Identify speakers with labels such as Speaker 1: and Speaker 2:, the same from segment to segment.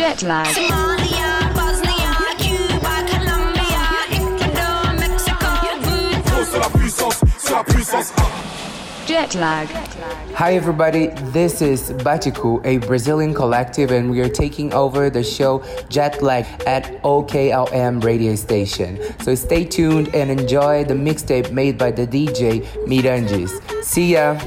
Speaker 1: Jet lag.
Speaker 2: Somalia, Bosnia, Cuba, Colombia, Ecuador, Mexico.
Speaker 3: C'est la puissance, c'est la puissance.
Speaker 1: Jet lag.
Speaker 4: Hi everybody, this is Batiku, a Brazilian collective, and we are taking over the show Jet Lag at OKLM radio station. So stay tuned and enjoy the mixtape made by the DJ Miranges. See ya!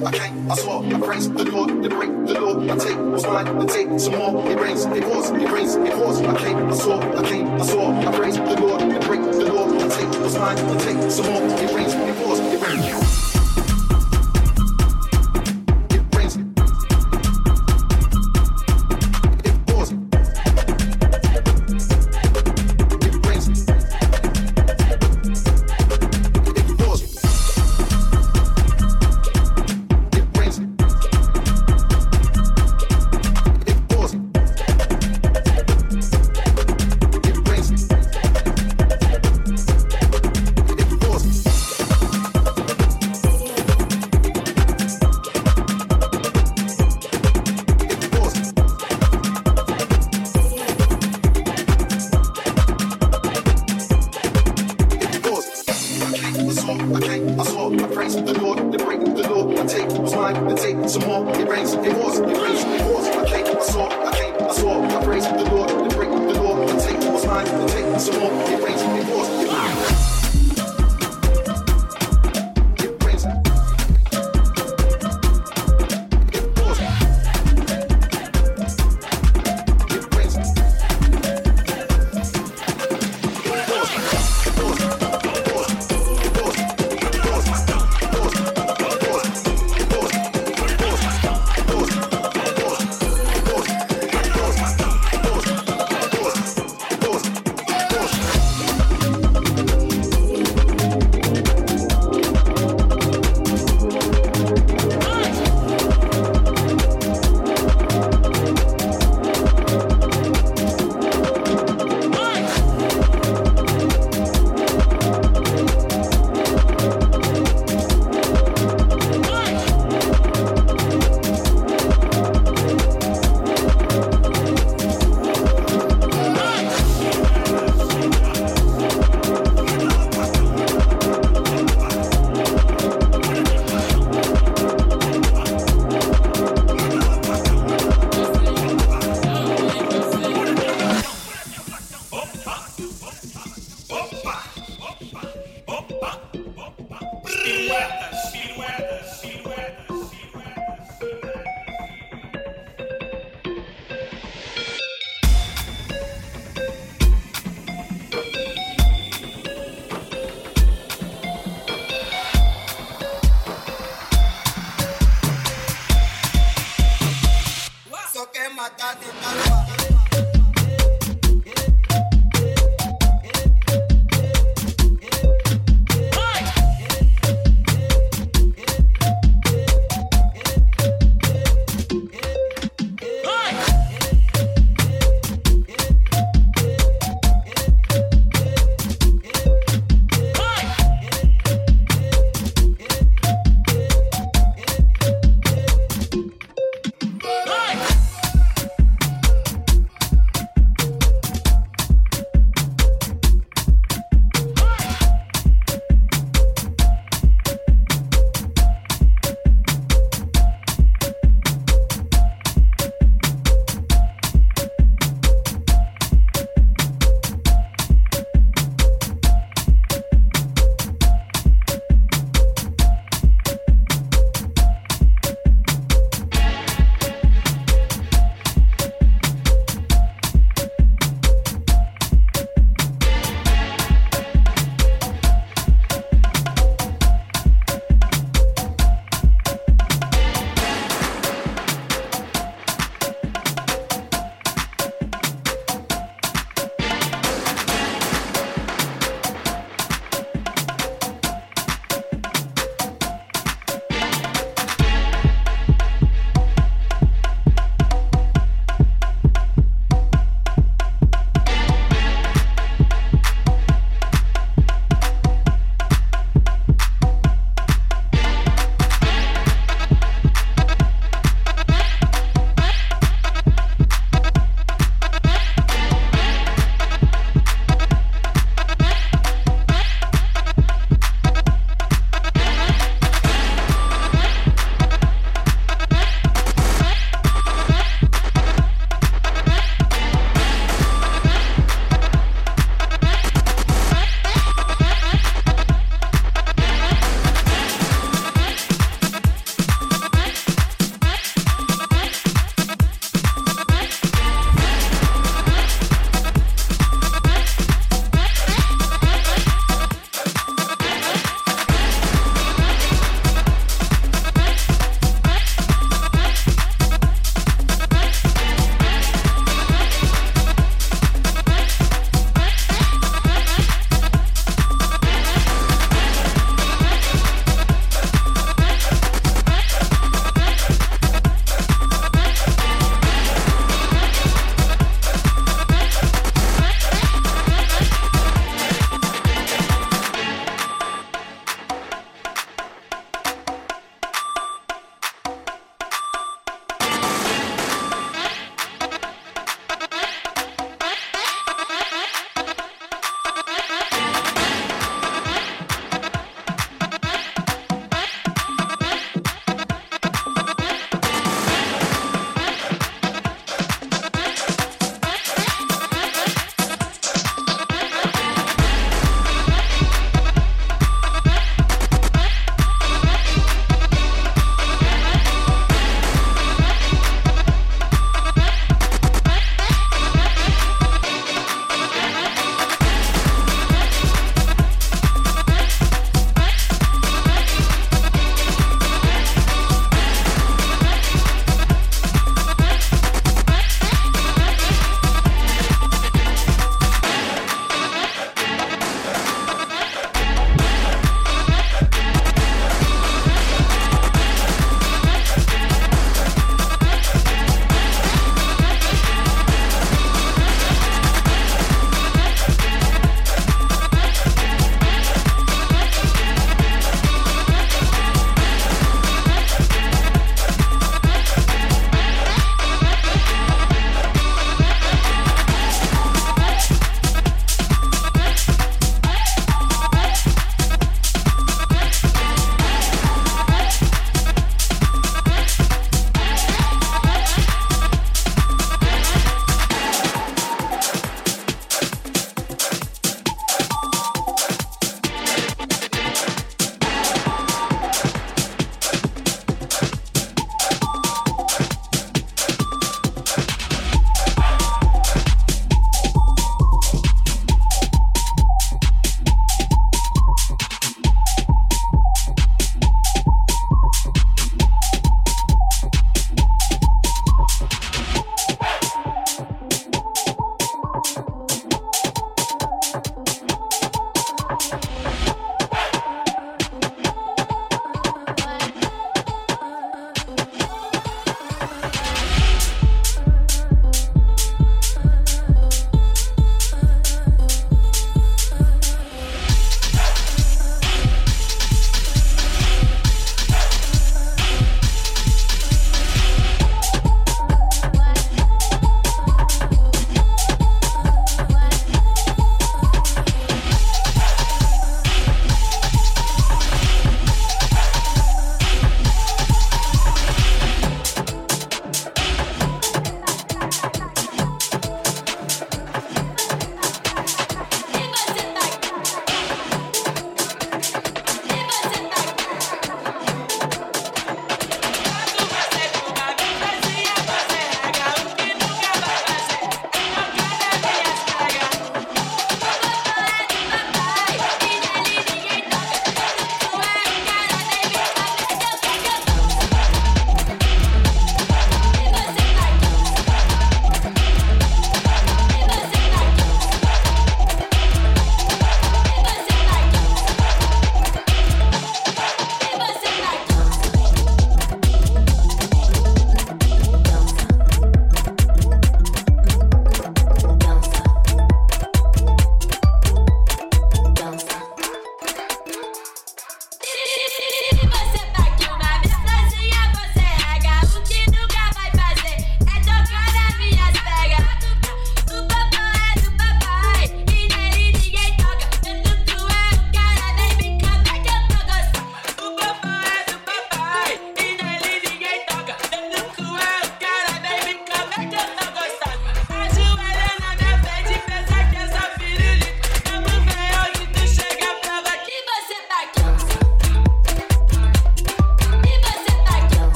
Speaker 5: I came, I saw, I praise the Lord, they break the law. I take what's mine, they take some more. It rains, it pours, it rains, it pours. I came, I saw, I came, I saw. I praise the Lord, they break the law. I take what's mine, they take some more. It rains, it pours, it rains.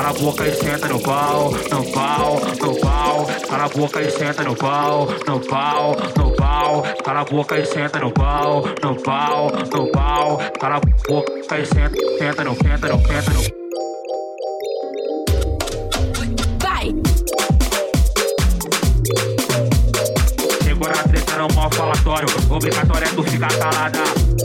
Speaker 6: cala a boca e senta no pau, no pau, no pau. Cala a boca e senta no pau, no pau, no pau. Cala a boca e senta no pau, no pau, no pau. Cala a boca e senta no, senta no, senta no.
Speaker 2: Vai!
Speaker 6: Chegou na treta, não mal falatório. Obrigatório é tu ficar calada.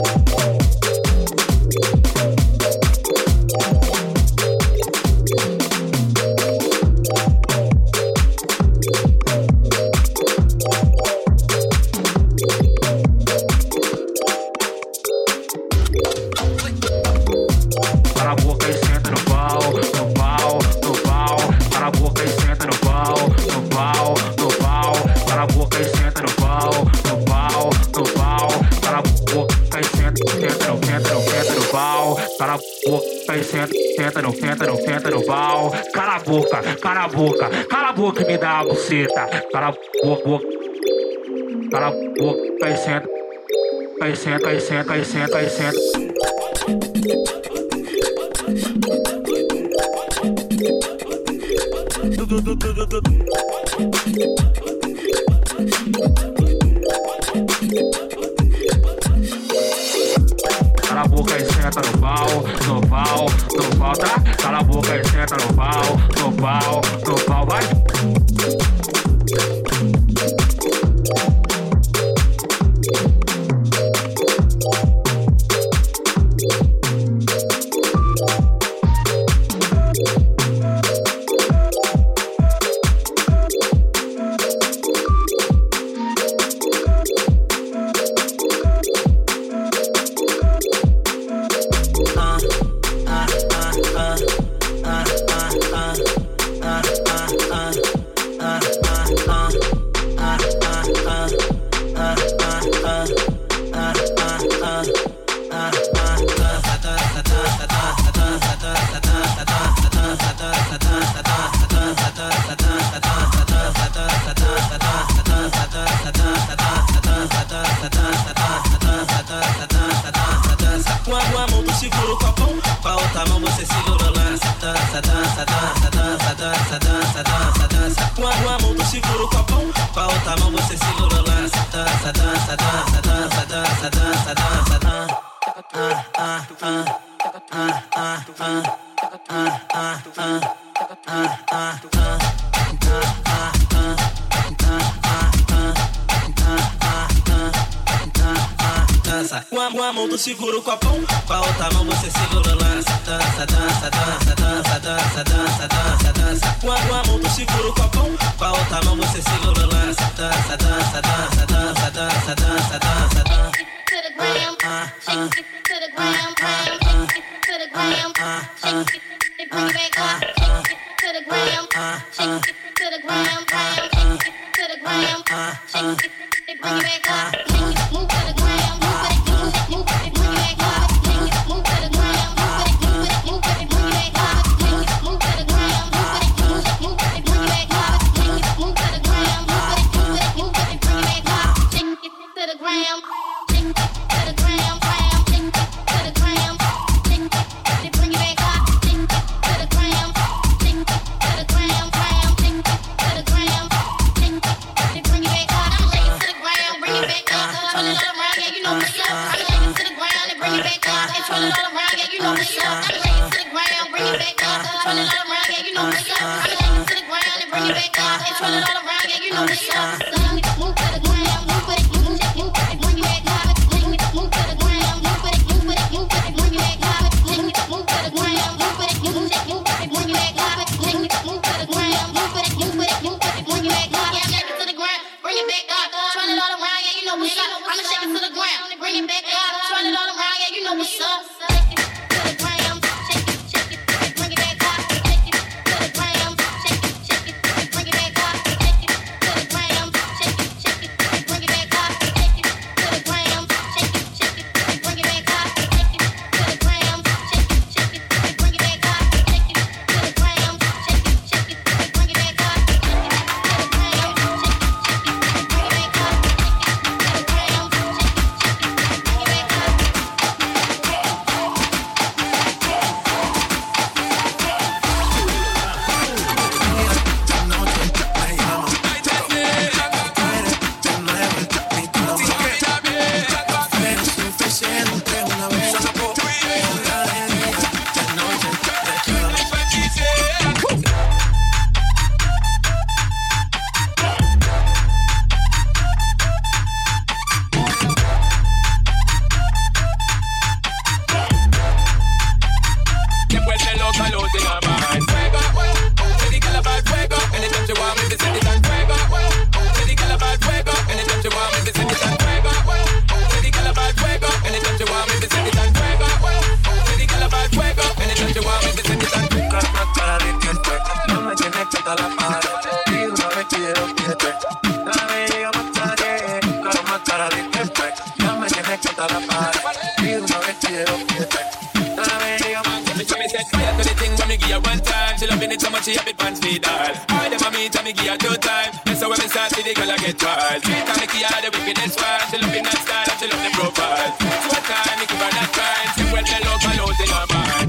Speaker 6: Cala a boca e senta no pau, no pau, no pau. Cala a boca e senta no pau, no pau, no pau. Cala a boca e senta no pau, no pau, no pau. Cala a boca e senta no, senta no, senta no pau. Cala a boca e senta no, senta no, senta no pau. Cala a boca, cala a boca, cala a boca e me dá a buceta. Cala a boca, cala a boca e senta, e senta, e senta, e senta, e senta. Cala a boca e senta no pau, no pau, no pau, tá? Cala a boca e senta no pau, no pau, no pau, vai!
Speaker 7: Com a mão tu segura o copão, com a outra mão você segura o lance. Dança, dança, dança, dança, dança, dança, dança, dança. Com a mão tu segura o copão, com a outra mão você segura o lance. Dança, dança, dança, dança, dança, dança, dança. Com a mão tu segura o copão, com a outra mão você segura o lance. Dança, dança, dança, dança, dança, dança, dança, dança. Com a mão tu segura o copão, com a outra mão você segura o lance. Dança, dança, dança, dança, dança, dança, dança, dança.
Speaker 2: To the gram, shake it to the gram, shake it to the gram, shake it, bring it back up, shake it to the gram, shake it to the gram, shake it to the gram, shake it, bring it back up, shake it, move to the gram, move it, move it, bring it back up, shake it, move to the gram, move it, move it, bring it back up, shake it, move to the gram, move it, move it, bring it back up, shake it, move to the gram, move it, move it, bring it back up, shake it to the gram.
Speaker 8: but she have it pants feed all. All them a meet and me give her 2 times. That's how when me start see the girl I get wild. 3 times me give her the wickedest one. She love in that style and she love the profile. 4 times me give her that kind. She well tell out my load in her mind.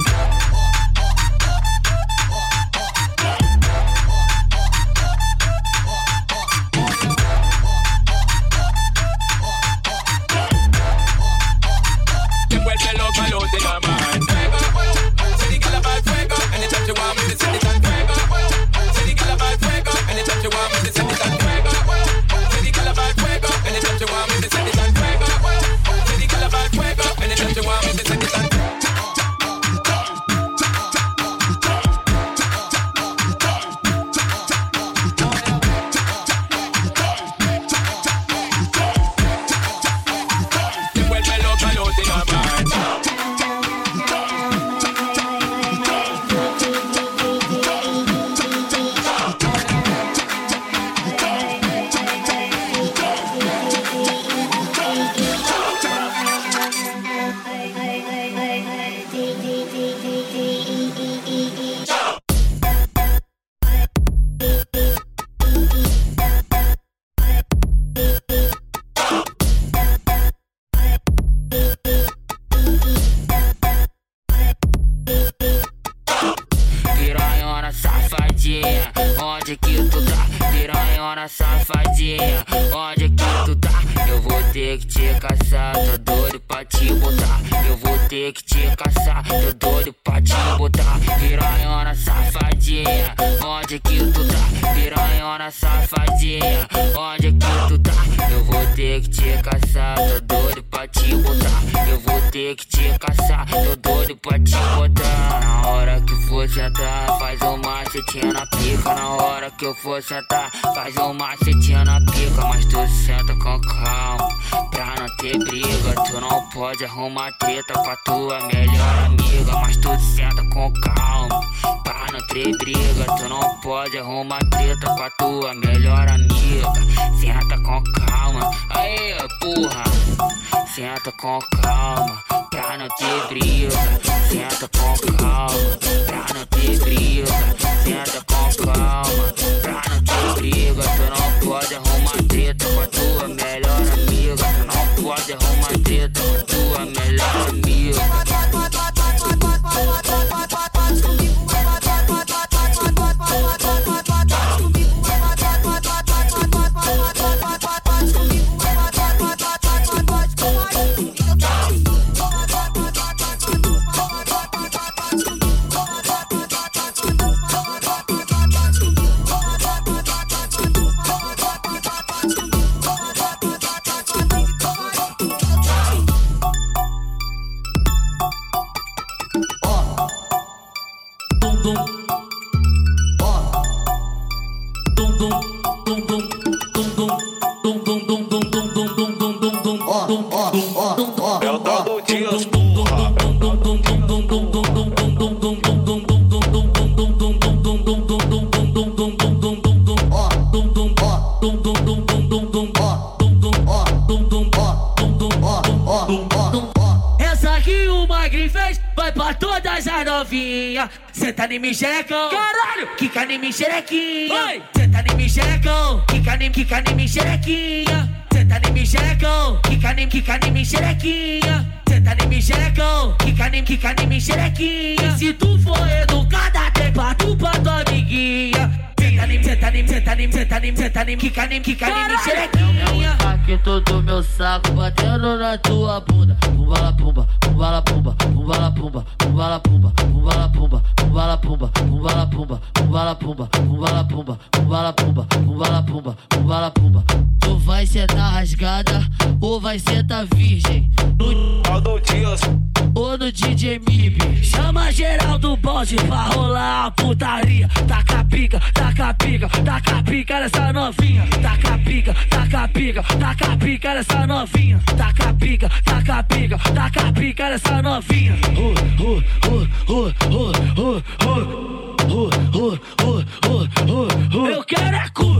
Speaker 9: Onde que tu tá? Piranhona safadinha, onde que tu tá? Eu vou ter que te caçar, tô doido pra te botar. Eu vou ter que te caçar, tô doido pra te botar. Piranhona safadinha, onde que tu tá? Piranhona safadinha, onde que tu tá? Eu vou ter que te caçar, tô doido pra te botar. Eu vou ter que te caçar, tô doido pra te botar. Na hora que for sentar, faz uma setinha na pica. Na hora que eu for sentar, faz uma setinha na pica. Mas tu senta com calma, pra não ter briga. Tu não pode arrumar treta com a tua melhor amiga. Mas tu senta com calma, pra não ter briga. Tu não pode arrumar treta com a tua melhor amiga. Senta com calma, aí porra. Senta com calma, pra não ter briga. Senta com calma, pra não ter briga. Senta com calma, pra não ter briga. Tu não pode arrumar treta com a tua melhor amiga. Tu não pode arrumar treta com a tua melhor amiga.
Speaker 3: É o tal do Dias, porra.
Speaker 10: Essa aqui o Magri fez, vai pra todas as novinhas. Senta em mim, xerecão. Caralho! Quica em mim, xerequinha. Senta em mim, xerecão. Quica em mim, xerequinha. Senta em mim, xerecão. Quica em mim, xerequinha. Senta em mim, xerecão. Quica em mim, xerequinha. E se tu for educada, tem pra tu pra tua amiguinha. Senta em mim, quica em mim, xerequinha.
Speaker 9: Aqui todo meu saco batendo na tua bunda. Pumbala pumba, pumbala pumba, pumbala pumba, pumbala pumba, pumbala pumba, pumbala pumba, pumbala pumba, pumbala pumba, pumbala pumba, pumbala pumba, pumbala pumba, pumbala pumba. Tu vai sentar rasgada ou vai sentar virgem?
Speaker 3: Tal do Dias.
Speaker 9: Ou no DJ Mib.
Speaker 10: Chama geral do bonde pra rolar a putaria. Taca pica, taca pica, taca pica nessa novinha. Taca pica, taca pica, taca pica nessa novinha. Taca pica, taca pica, taca pica nessa novinha. Eu quero é cu.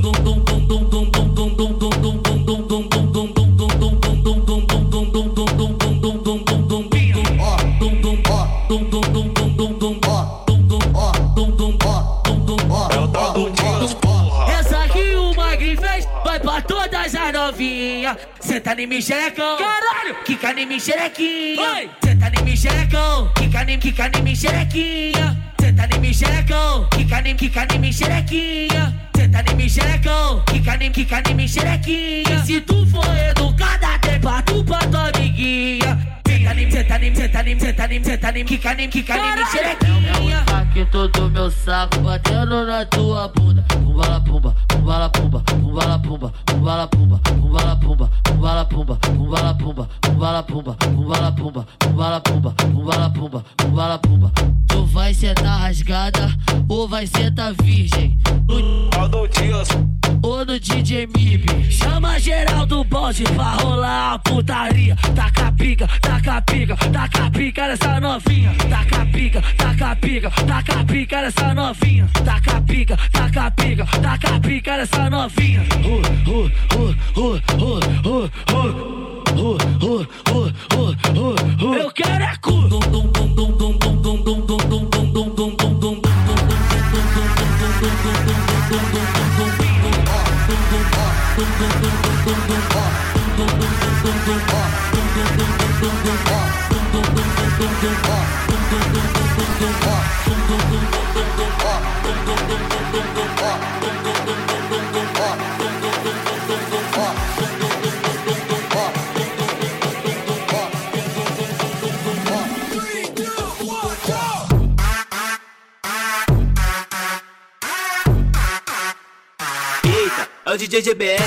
Speaker 10: novinha. Senta em mim, xerecão. Caralho, quica em mim, xerequinha. Senta em mim, xerecão. Quica em mim, xerequinha. Senta em mim, xerecão. Quica em mim, xerequinha. Senta em mim, xerecão. Quica em mim, xerequinha. E se tu for educada, tem pra tu pra tua amiguinha. Senta em mim, quica em mim, xerequinha.
Speaker 9: Aqui todo meu saco batendo na tua bunda. Pumba la pumba, pumba la pumba, pumba la pumba, pumba la pumba, pumba la pumba, pumba la pumba, pumba la pumba, pumba la pumba, pumba la pumba, pumba la pumba, pumba la pumba, pumba la pumba. Tu vai sentar rasgada ou vai sentar virgem? Ou no DJ Mib.
Speaker 10: Chama geral do bonde pra rolar a putaria. Taca pica, taca pica, taca pica nessa novinha. Taca pica, taca pica, taca pica nessa novinha. Taca pica, taca pica, taca pica nessa novinha. Eu quero é cu.
Speaker 7: Eita, é o DJ GBR.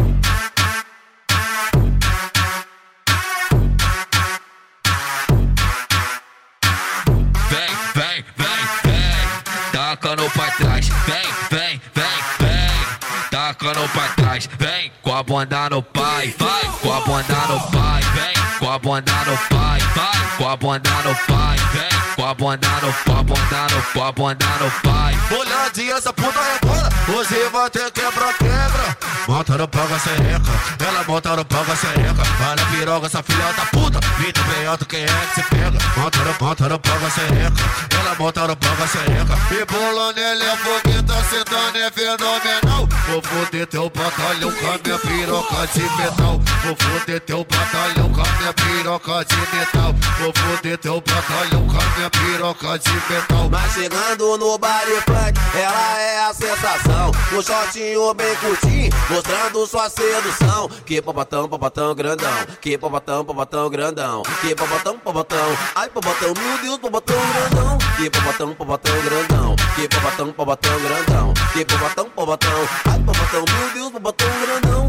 Speaker 11: Tacando pra trás, vem, tacando pra trás, vem com a bunda no pai, vai com a bunda no pai, vem com a bunda no pai, vai com a bunda no pai, vem com a bunda no com a bunda no pai.
Speaker 12: Olhadinha, essa puta rebola, hoje vai ter quebra. Monta no pau com a sereca, ela monta no pau com a sereca. Olha a piroga, essa filha da puta, vida bem alto, quem é que se pega? Monta no pau com a sereca, ela monta no pau com a sereca. E bolando ele é fogueta, sentando é fenomenal. Vou foder teu batalhão com a minha piroca de metal. Vou foder teu batalhão com a minha piroca de metal. Vou foder teu batalhão com a minha piroca de metal.
Speaker 7: Mas chegando no baile funk, ela é a sensação. O shortinho bem curtinho, mostrando sua sedução. Que popotão grandão, que popotão grandão, que popotão, ai popotão, meu Deus, popotão grandão. Que popotão grandão, que popotão grandão, que popotão, ai popotão, meu Deus, popotão grandão.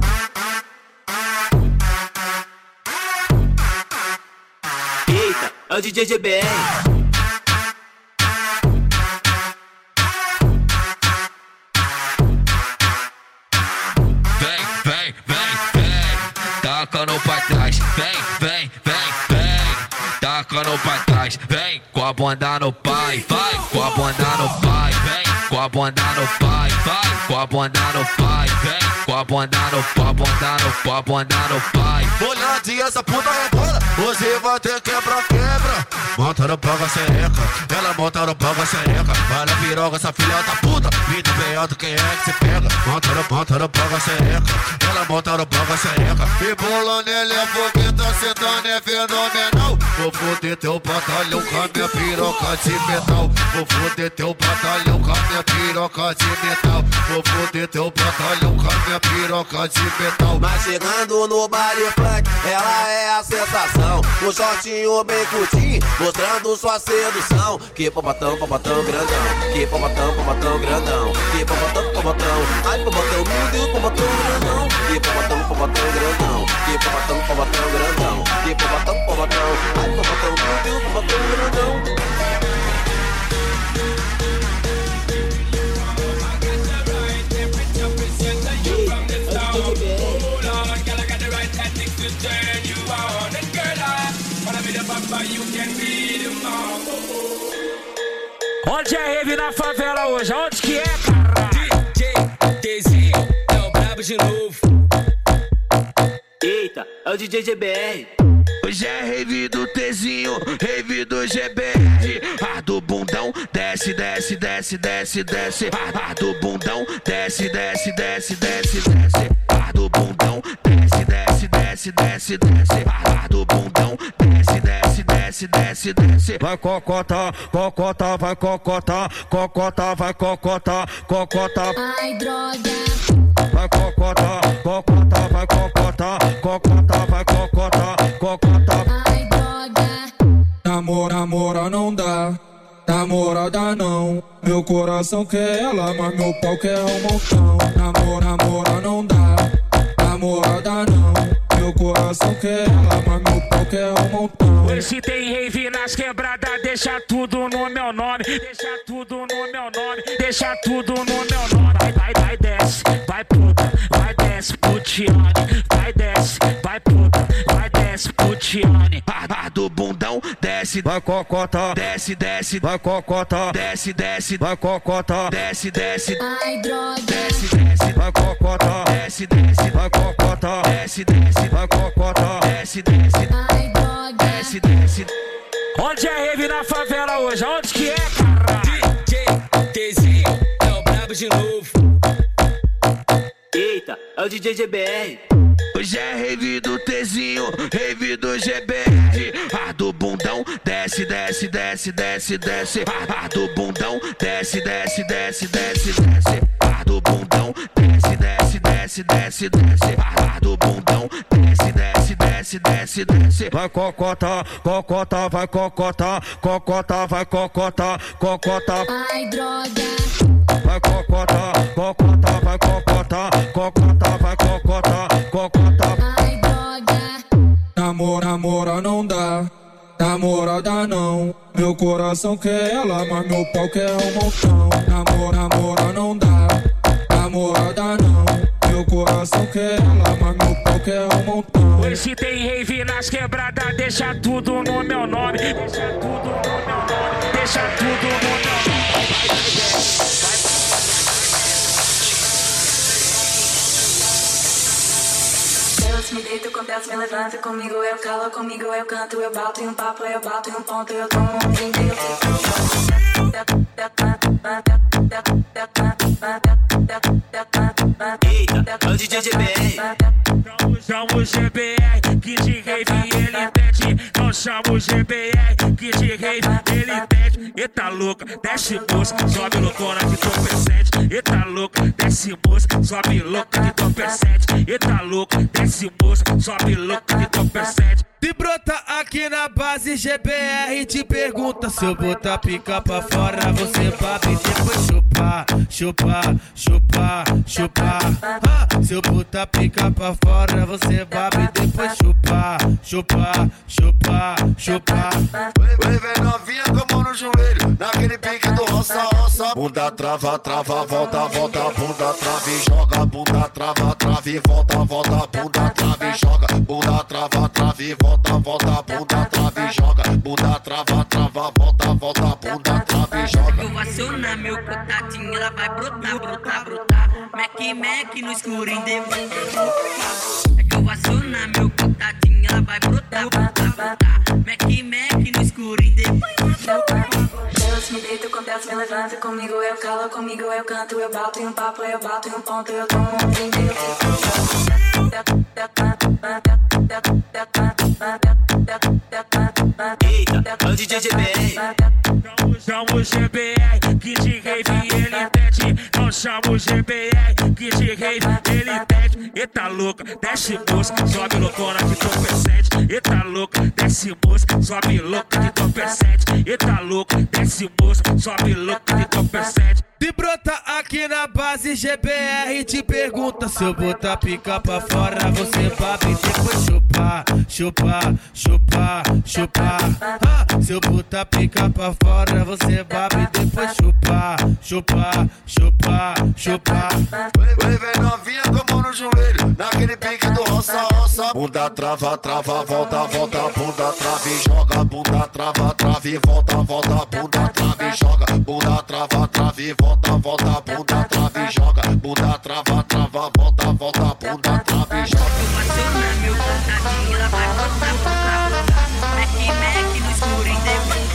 Speaker 7: Eita, é o DJ GBR.
Speaker 11: Tacando pra trás, vem, tacando pra trás, vem com a bunda no pai, vai com a bunda no pai, vem com a bunda no pai, vai com a bunda no pai, vem com a bunda no com a bunda no pai.
Speaker 12: Olhadinha, essa puta rebola, hoje vai ter quebra. Monta no pau com a sereca, ela monta no pau com a sereca. Olha a piroga, essa filha da puta, vida bem alto, quem é que se pega? Monta no pau com a sereca, ela monta no pau com a sereca. E bolando ele é fogueta, sentando é fenomenal. Vou foder teu batalhão com a minha piroca de metal. Vou foder teu batalhão com a minha piroca de metal. Vou foder teu batalhão com a minha piroca de metal.
Speaker 7: Mas chegando no baile funk, ela é a sensação. O shortinho bem curtinho, mostrando sua sedução. Que popotão grandão, que popotão grandão, que popotão, ai popotão, meu Deus, popotão grandão. Que popotão grandão, que popotão grandão, que popotão, ai popotão, meu Deus, popotão grandão.
Speaker 10: Onde é rave na favela hoje? Onde que é, cara?
Speaker 7: DJ Tezinho é o brabo de novo. Eita, é o DJ GBR.
Speaker 11: Hoje é rave do Tezinho, rave do GBR. A do bundão, desce. A do bundão, desce.
Speaker 12: do bundão, desce, desce, desce, desce, desce. Do bundão, desce, desce, desce, desce, desce. Vai cocota, cocota, vai cocota, cocota, vai cocota, cocota.
Speaker 2: Ai, droga.
Speaker 12: Vai cocota, cocota, vai cocota, cocota, vai cocota, cocota.
Speaker 2: Ai, droga.
Speaker 13: Namora não dá, namora dá não. Meu coração quer ela, mas meu pau quer um montão. Namora não dá, namora dá não. Meu coração quer ela, mas meu pau quer um montão.
Speaker 10: Hoje tem rave nas quebradas, deixa tudo no meu nome. Deixa tudo no meu nome, deixa tudo no meu nome. Vai desce, vai puta, vai desce putiane. Vai desce, vai puta, vai desce putiane.
Speaker 12: Do bundão, desce, vai cocota, desce, desce, vai cocota, desce, desce, vai cocota, desce, desce.
Speaker 2: Ai, droga.
Speaker 12: Desce, desce, vai cocota, desce, desce, vai cocota, desce, desce, vai cocota, desce, desce.
Speaker 2: Ai, droga.
Speaker 12: Desce, desce.
Speaker 10: Onde é rave na favela hoje? Onde que é, cara?
Speaker 7: DJ Tzinho é o brabo de novo.
Speaker 14: Eita, é o DJ GBR.
Speaker 12: Hoje é rave do Tzinho, rave do GBR. Do bundão, desce, desce, desce, desce, desce. Do bundão, desce, desce, desce, desce, desce. Do bundão, desce, desce, desce, desce, desce. Do bundão, desce, desce, desce, desce, desce. Vai cocota, cocota, vai cocota, cocota, vai cocota, cocota.
Speaker 2: Ai, droga.
Speaker 12: Vai cocota, cocota, vai cocota, cocota, vai cocota, cocota.
Speaker 2: Ai, droga.
Speaker 13: Namora não dá, namora dá não. Meu coração quer ela, mas meu pau quer um montão. Namora não dá, namora dá não. Meu coração quer ela, mas meu pau quer um montão.
Speaker 10: Hoje tem rave nas quebradas, deixa tudo no meu nome. Deixa tudo no meu nome, deixa tudo no meu nome.
Speaker 15: Deus me deito com Deus me levanta. Comigo eu calo, comigo eu canto. Eu bato em um papo, eu bato em um ponto. Eu tomo um drink, eu fico.
Speaker 14: Eita, é o DJ GBR.
Speaker 10: Não chamo o GBR, que de rave ele pede. Não chamo o GBR, que de rave ele pede. Eita louca, desce moça, sobe loucona que tu percebe. Eita louca, desce moça, sobe louca que tu percebe. Eita louca, desce moça, sobe louca que tu percebe.
Speaker 13: Se brota aqui na base GBR te pergunta se eu botar pica pra fora você babe e depois chupar, chupar, chupar, chupar. Se eu botar pica pra fora você babe e depois chupar, chupar, chupar, chupar.
Speaker 12: Vem, vem novinha com a mão no joelho, naquele pique do roça, roça. Bunda trava, trava, volta, volta. Bunda trava e joga, bunda trava, trava e volta, volta. Bunda trava e joga, bunda trava, trava e volta. Volta, bunda, trava e joga. Bunda, trava, trava, volta, volta. Bunda, trava e joga.
Speaker 16: Eu acionar meu contatinho, ela vai brotar, brotar, brotar. Mac, Mac no escuro em depois. É que eu acionar meu contatinho, ela vai brotar, brotar, brotar. Mac, Mac no escuro em depois.
Speaker 15: Deus me deito com Deus me levanta. Comigo eu calo, comigo eu canto. Eu bato em um papo, eu bato em um ponto. Eu tomo um drink, eu fico.
Speaker 14: Eita, é o DJ GBR.
Speaker 10: Não chamo o GBR, que de rave ele pede. Não chamo o GBR, que de rave ele pede. Eita louca, desce moça, sobe loucona que tu percebe. Eita louca, desce moça, sobe louca que tu percebe. Eita louca, desce moça, sobe louca que tu percebe.
Speaker 13: Se brota aqui na base GBR te pergunta se eu botar pica pra fora você babe e depois chupar, chupar, chupar, chupar. Se eu botar pica pra fora você babe e depois chupar, chupar, chupar, chupar.
Speaker 12: Vem, vem novinha com a mão no joelho, naquele pique do roça, roça. Bunda trava, trava, volta, volta. Bunda trava e joga, bunda trava, trava e volta, volta. Bunda trava e joga, bunda trava, trava e volta. Volta, bunda, trava e joga. Bunda, trava, trava, volta, volta. Bunda, trava e joga.
Speaker 16: Eu acionar meu contatinho, ela vai brotar, brotar, brotar. Mac, Mac no escuro em depois.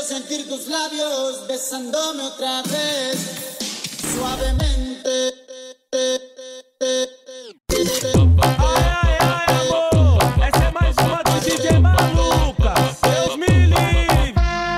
Speaker 17: Quiero sentir tus labios besándome otra vez, suavemente.
Speaker 18: Ai, amor, essa é mais uma do DJ Maluca. Deus me livre.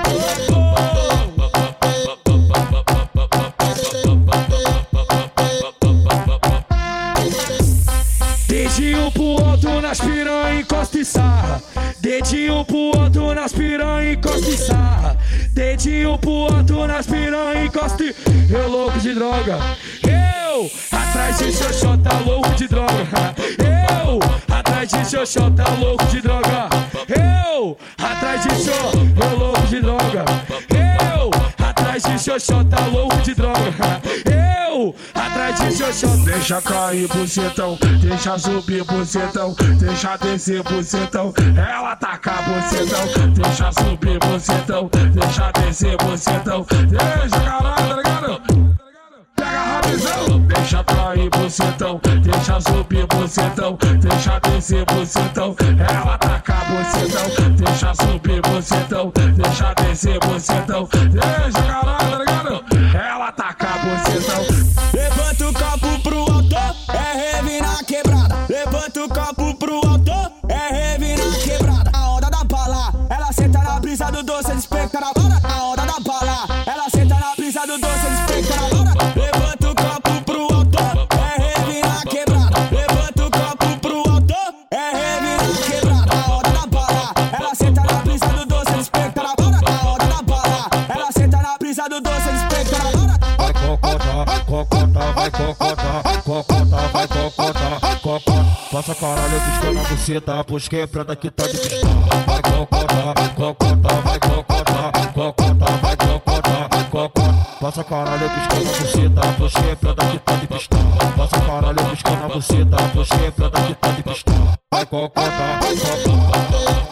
Speaker 13: Dedinho pro outro nas piranha, encosta e sarra. Dedinho pro outro nas piranha, encosta e sarra. Dedinho pro outro nas piranha, encosta e... Eu louco de droga. Eu, atrás de xoxó, tá louco de droga. Eu, atrás de xoxó, tá louco de droga. Eu, atrás de xoxó, eu louco de droga. Eu, atrás de xoxó, tá louco de droga. Eu, atrás de xoxó. Deixa cair bucetão, deixa subir bucetão, deixa descer bucetão, ela taca bucetão, deixa subir bucetão, deixa descer bucetão, deixa caralho, tá ligado? Pega rapidão, deixa cair bucetão, deixa subir bucetão, deixa descer bucetão, ela taca bucetão, deixa subir bucetão, deixa descer bucetão, deixa caralho, tá ligado? Ela taca bucetão.
Speaker 18: Levanta o copo pro alto, é rave na quebrada. Levanta o copo pro alto, é rave na quebrada. A onda da bala, ela senta na brisa do doce, ela espeta na hora. A onda da bala, ela senta na brisa do doce, ela espeta na hora. Levanta o copo pro alto, é rave na quebrada. Levanta o copo pro alto, é rave na quebrada. A onda da bala, ela senta na brisa do doce, ela espeta na hora. A onda da bala, ela senta na brisa do doce, ela espeta na hora.
Speaker 13: Cocota, vai cocota, cocota, vai cocota, cocota. Passa caralho, piscando a buceta, pois quebrada que tá de pistola. Vai cocota, cocota, vai cocota, cocota, vai cocota, cocota. Passa caralho, piscando a buceta, pois quebrada que tá de pistola. Passa caralho, piscando a buceta, pois quebrada que tá de pistola. Vai cocota, cocota.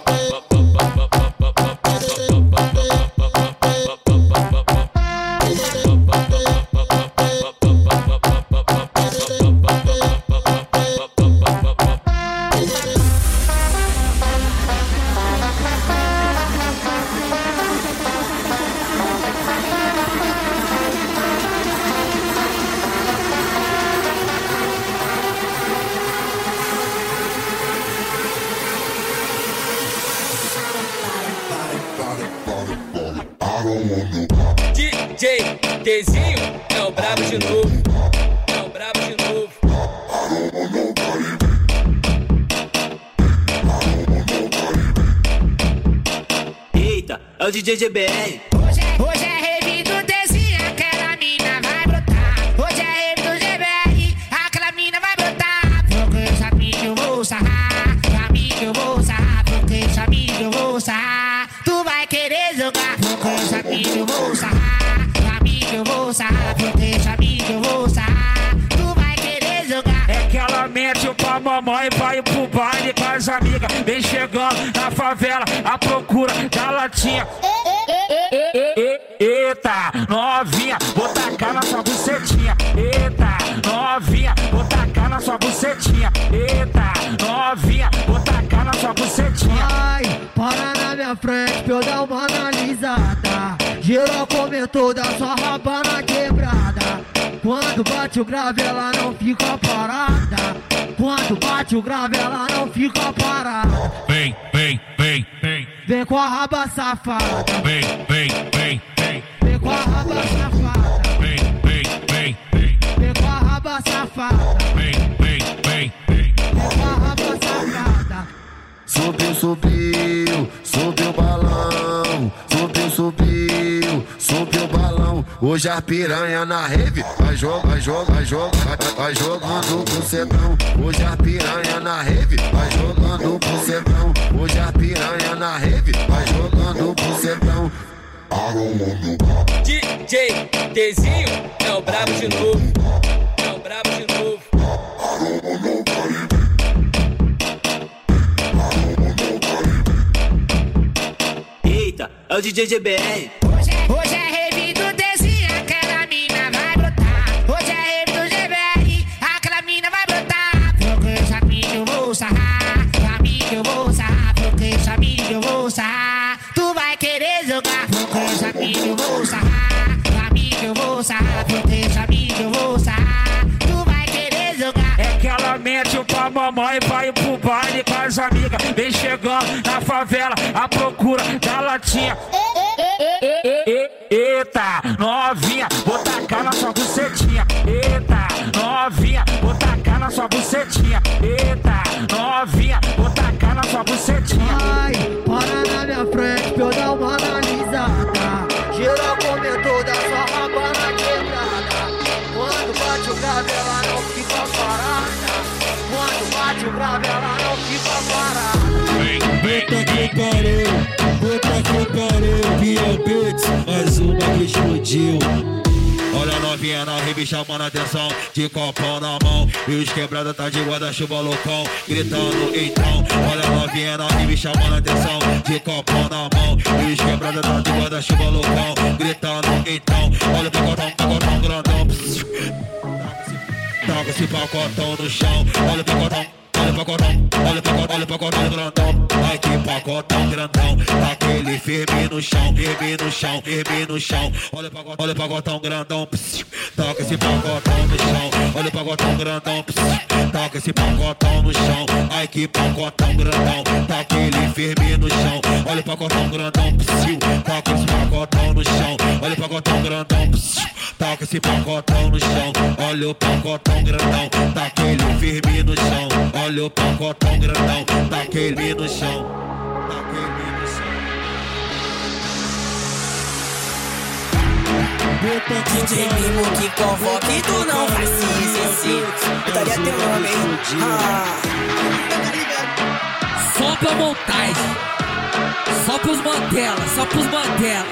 Speaker 18: DJ Dezinho é o brabo de novo. É o brabo de novo.
Speaker 14: Eita, é o DJ GBR.
Speaker 10: Hoje é rave do Dezinho, aquela mina vai brotar. Hoje é rave do GBR, aquela mina vai brotar. Porque essa mina eu vou sarrar, amigo eu vou sarrar. Porque essa mina eu vou sarrar, tu vai querer jogar. Porque essa mina eu vou sarrar, amigo eu vou sarrar. Porque essa mina eu vou sarrar, tu vai querer jogar.
Speaker 13: É que ela mente pra mamãe, vai pro baile com as amigas. Vem chegando na favela à procura da latinha. Eita, novinha, vou tacar na sua bucetinha. Eita, novinha, vou tacar na sua bucetinha. Eita, novinha, vou tacar na sua bucetinha.
Speaker 19: Ai, para na minha frente pra eu dar uma analisada. Geral comentou da sua raba na quebrada. Quando bate o grave ela não fica parada. Quando bate o grave ela não fica parada.
Speaker 13: Vem, vem, vem, vem.
Speaker 19: Vem com a raba safada.
Speaker 13: Vem, vem, vem, vem.
Speaker 19: Vem com a raba safada.
Speaker 13: Vem, vem, vem, vem.
Speaker 19: Vem com a raba safada.
Speaker 13: Vem, vem, vem, vem.
Speaker 19: Vem com a raba safada.
Speaker 12: Subiu, subiu, subiu o balão. Subiu, subiu, subiu o balão. Hoje a piranha na rave vai jogando, vai jogando bucetão. Hoje a piranha na rave vai jogando bucetão. Hoje a piranha na rave vai jogando bucetão.
Speaker 18: DJ Dezinho é o brabo de novo. É o brabo de novo.
Speaker 14: Eita, é o DJ GBR.
Speaker 10: Hoje é rave do Dezinho, aquela mina vai brotar. Hoje é rave do GBR, aquela mina vai brotar. Porque essa mina eu vou sarrar, amigo eu vou sarrar. Porque essa mina eu vou sarrar, tu vai querer jogar. vou sarrar, proteja amigo, eu vou sarrar. Tu vai querer jogar.
Speaker 6: É que ela mente pra mamãe, vai pro baile com as amigas. Vem chegando na favela à procura da latinha. Eita, novinha, vou tacar na sua bucetinha. Eita, novinha, vou tacar na sua bucetinha. Eita, novinha, vou tacar na sua bucetinha.
Speaker 19: Ai, para na minha frente pra eu dar uma analisada. Geral comentou da sua raba na quebrada. Quando bate o grave ela não fica parada. Quando bate o grave ela não fica parada.
Speaker 20: Puta que pariu, puta que pariu. Via Beats, mais uma que explodiu.
Speaker 12: Olha a novinha na rave chamando a atenção, de copão na mão. E os quebrados tá de guarda-chuva loucão, gritando então. Olha a novinha na rave chamando a atenção, de copão na mão. E os quebrados tá de guarda-chuva loucão, gritando então. Olha o pacotão grandão. Taca esse pacotão no chão. Olha o pacotão. Olha o pacotão grandão. Ai que pacotão grandão. Tá aquele firme no chão, firme no chão, firme no chão. Olha o pacotão grandão. Toca esse pacotão no chão. Olha o pacotão grandão. Toca esse pacotão no chão. Ai que pacotão grandão. Tá aquele firme no chão. Olha o pacotão grandão. Toca esse pacotão no chão. Olha o pacotão grandão. Toca esse pacotão no chão. Olha o pacotão grandão. Tá aquele firme no chão. Olha o pacotão grandão, tá aquele no chão. Tá aquele no chão.
Speaker 16: DJ Mimo que convoca e tu não faz sim. Daria teu nome, hein?
Speaker 10: Só pra montagem. Só pros Mandela, só pros Mandela.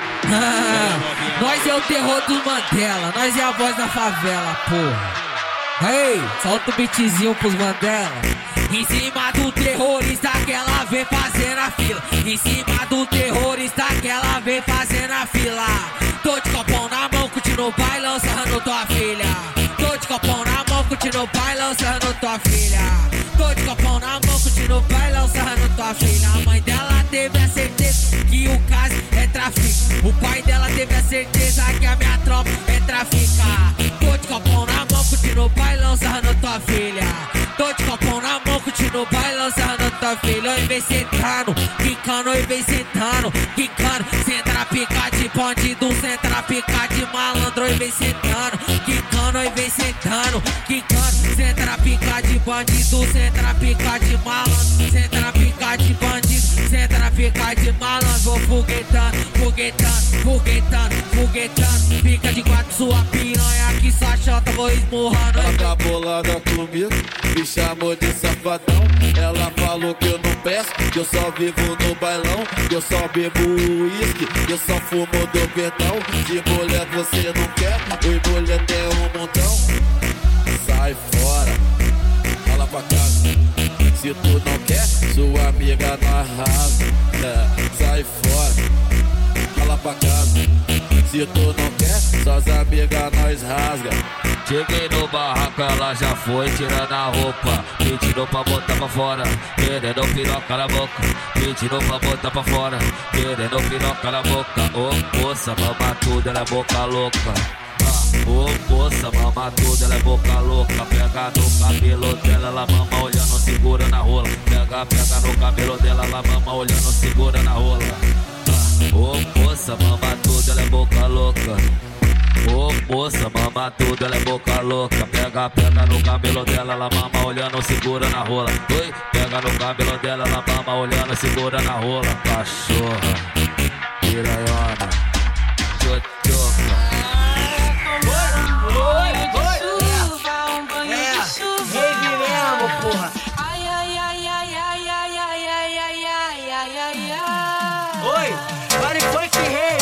Speaker 10: Nós é o terror dos Mandela. Nós é a voz da favela, porra. Ei, solta o beatzinho pros Mandela. Em cima do terrorista que ela vem fazendo a fila. Em cima do terrorista que ela vem fazendo a fila. Tô de copão na mão, continuo bailando, sarrando tua filha. Tô de copão na mão, continuo bailando, sarrando tua filha. Tô de copão na mão, continuo bailando, sarrando tua filha. A mãe dela teve a certeza que o caso é tráfico. O pai dela teve a certeza que a minha tropa é traficar. Tô de copão na mão, continuo bailando, sarrando tua filha. Tô de copão na mão, continuo bailando, sarrando tua filha. Oi, vem sentando, quicando, oi, vem sentando, quicando. Senta na pica de bandido, senta na pica de malandro, oi, vem sentando, quicando, oi, vem sentando, quicando. Senta na pica de bandido, senta na pica de malandro, senta na pica de bandido, senta na pica de malandro. Vou foguetando, foguetando, foguetando, foguetando. Fica de quatro sua piranha que sua chota vou esmurrando.
Speaker 20: Ela tá bolada comigo, me chamou de safadão. Ela falou que eu não peço, que eu só vivo no bailão. Que eu só bebo uísque, que eu só fumo do verdão. De mulher você não quer, oi mulher tem um montão. Sai fora, fala pra casa. Se tu não quer, sua amiga não arrasa. Sai fora, fala pra casa. Se tu não quer, suas amigas nós rasga.
Speaker 11: Cheguei no barraco, ela já foi tirando a roupa, pedindo pra botar pra fora, querendo piroca na boca, pedindo pra botar pra fora, querendo piroca na boca. Ô moça, mama tudo, ela é boca louca. Ô moça, mama tudo, ela é boca louca. Pega no cabelo dela, ela mama olhando, segura na rola. Pega no cabelo dela, ela mama olhando, segura na rola. Ô moça, mama tudo, ela é boca louca. Ô moça, mama tudo, ela é boca louca. Pega no cabelo dela, ela mama olhando, segura na rola. Oi, pega no cabelo dela, ela mama olhando, segura na rola. Cachorra, piranhona, tchotchoca.
Speaker 16: Porra.
Speaker 10: Ai, ai, ai, ai, ai, ai, ai, ai, ai, ai, ai, ai, ai.
Speaker 16: Oi, pare funk rei.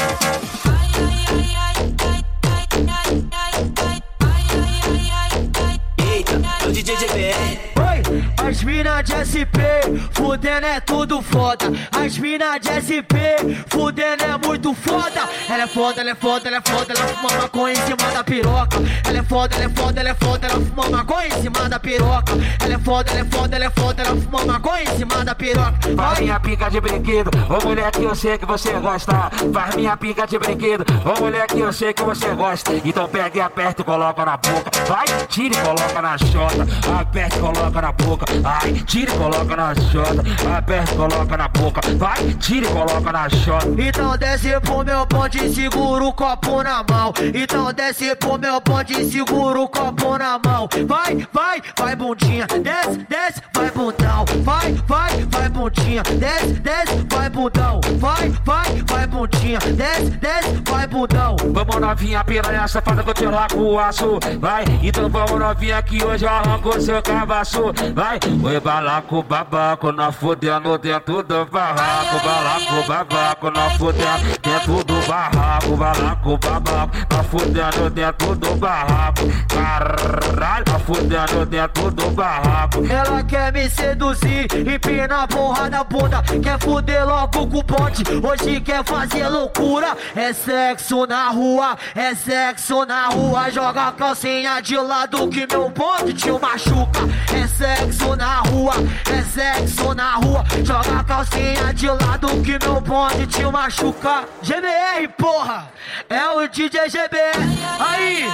Speaker 14: Eita, é o DJ GBR.
Speaker 19: Oi, as mina de SP, fudendo é tudo foda. As mina de SP, fudendo é muito foda. Ela é foda, ela é foda, ela é foda, ela fuma maconha em cima da piroca. Ela é foda, ela é foda, ela é foda, ela fuma maconha em cima da piroca. Ela é foda, ela é foda, ela é foda, ela fuma maconha em cima da piroca.
Speaker 6: Faz minha pica de brinquedo, ô mulher que eu sei que você gosta. Faz minha pica de brinquedo, ô mulher que eu sei que você gosta. Então pega e aperta e coloca na boca. Vai, tira e coloca na chota. Aperta e coloca na boca. Ai, tira e coloca na chota. Aperta e coloca na boca. Vai, tira e coloca na chota.
Speaker 19: Então desce pro meu bonde e segura o copo na mão. Então desce pro meu bonde e segura o copo na mão. Vai, vai, vai bundinha. Desce, desce, vai bundão. Vai, vai, vai bundinha. Desce, desce, vai bundão. Vai, vai, vai bundinha. Desce, desce, vai bundão.
Speaker 6: Vamos novinha, piranha safada que eu te largo o aço. Vai, então vamos novinha que hoje eu arranco seu cavaço. Vai, oi balaco, babaco, nós fudendo dentro do barraco. Balaco, babaco, nós fudendo dentro do barraco. Balaco, babaco, nós fudendo dentro do barraco. Caralho, nós fudendo dentro do barraco.
Speaker 19: Ela quer me seduzir, empina a porra da bunda. Quer fuder logo com o bonde, hoje quer fazer loucura. É sexo na rua, é sexo na rua. Joga a calcinha de lado que meu bonde te machuca. É sexo na rua, é sexo na rua. Joga a calcinha de lado que meu bonde te machuca. GBR, porra, é o DJ GBR. Aí!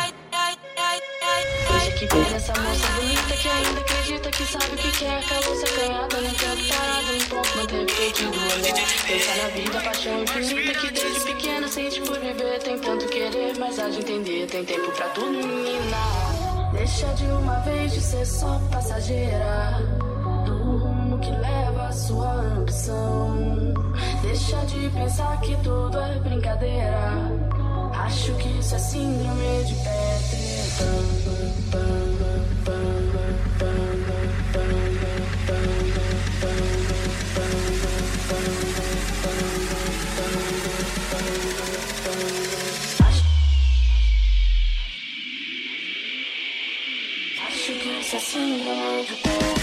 Speaker 15: Hoje que pega essa moça bonita que ainda acredita que sabe o que quer. Calou se acanhada, não quero parada, não posso manter feito do olhar. Pensar na vida, paixão infinita que desde pequena sente por viver. Tem tanto querer, mas há de entender, tem tempo pra tudo, menina. Deixa de uma vez de ser só passageira do rumo que leva a sua ambição. Deixa de pensar que tudo é brincadeira. Acho que isso é síndrome de Peter. Acho que isso é síndrome de Peter.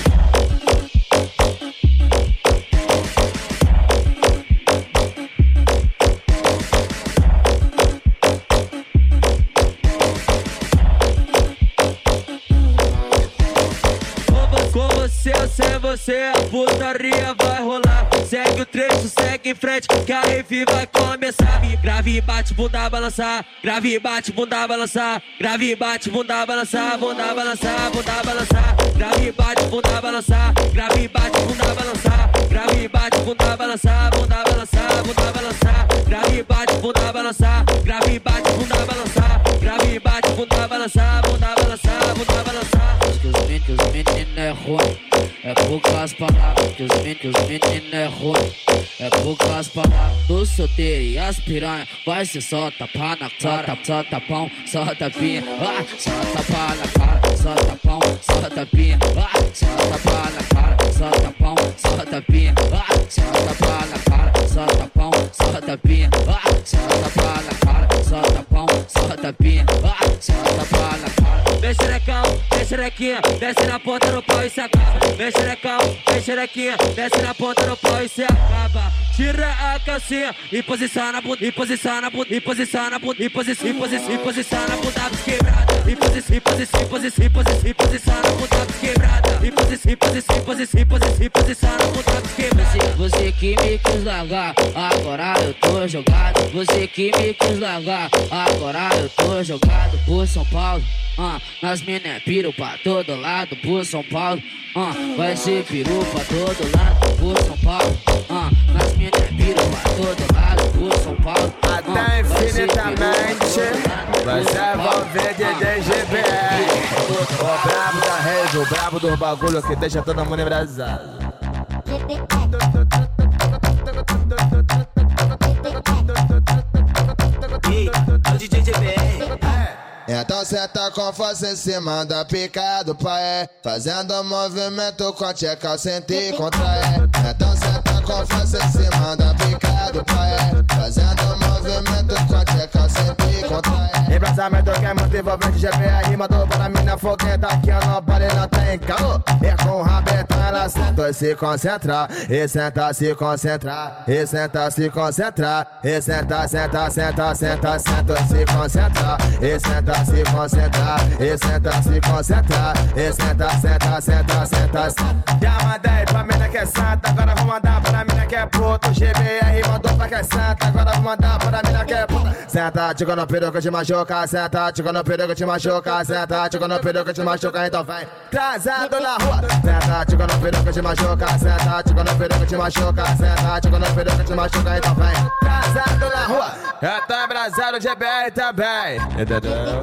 Speaker 13: Sem você a putaria vai rolar. Segue o trecho, segue em frente que a rave vai começar. Grave e bate, bunda balançar. Grave e bate, bunda balançar. Grave e bate, bunda balançar. Bunda balançar, bunda balançar. Grave e bate, bunda balançar. Grave e bate, bunda balançar. Grave e bate, bunda balançar. Bunda balançar, bunda balançar. Grave e bate, bunda balançar. Grave e bate, bunda balançar. Grave e bate, bunda balançar. Bunda balançar, bunda balançar.
Speaker 9: Que os meninos é ruim. É poucas palavras que os meninos é ruim. É poucas palavras do solteiro e as piranha. Vai ser só tapar na cara, só tapão, só tapinha. Só tapar na cara, só tapão, só tapinha. Só tapar na cara, só tapão, só tapinha. Só tapar na cara, só tapão, só tapinha. Só tapar na cara, só tapão, só tapinha. Só tapar na cara.
Speaker 13: Vem xerecão, vem xerequinha, desce na ponta do pau e se acaba. Vem xerecão, vem xerequinha, desce na ponta do pau e se acaba. Tira a calcinha e posiciona a bunda, e posiciona a bunda, e posiciona a bunda, e posiciona a bunda quebrada. E posiciona a bunda quebrada. E posiciona a bunda quebrada.
Speaker 9: Você que me quis largar, agora eu tô jogado. Você que me quis largar, agora eu tô jogado por São Paulo. Nas mina piru pra todo lado por São Paulo. Vai ser peru pra todo lado por São Paulo. Nas mina piru pra todo lado por São Paulo.
Speaker 21: Até infinitamente você vai ver DJ GBR. O brabo da rede, o brabo do bagulho que deixa todo mundo embrasado.
Speaker 14: É o DJ GBR.
Speaker 21: Então senta com força em cima da pica do pai, fazendo movimento com a tcheca sem te contrair. Então senta com força em cima da pica do pai, fazendo movimento com a tcheca sem te contrair. Embrasamento que é muito envolvente, GPR mandou para mina foguenta. Aqui eu não pare, não tem caô. É com o rabetão, ela senta e se concentra. E senta, se concentrar. E senta, se concentrar. E senta, senta, senta, senta, senta e se concentrar. E senta, se concentrar. E senta, se concentrar. E senta, senta, senta, senta, senta. Já mandei pra mina que é santa, agora vou mandar pra mina que é puto. GBR mandou pra que é santa, agora vou mandar pra mina que é puta. Senta, tico no peru que te machuca. Senta, tico no peru que te machuca. Senta, tico no peru que te machuca, então vem. Trazendo na rua. Senta, tico no peru que te machuca. Senta, tico no peru que te machuca. Senta, tico no peru que te machuca, então vem. Trazendo na rua. Eu tô embrasado, GBR também. Entendeu?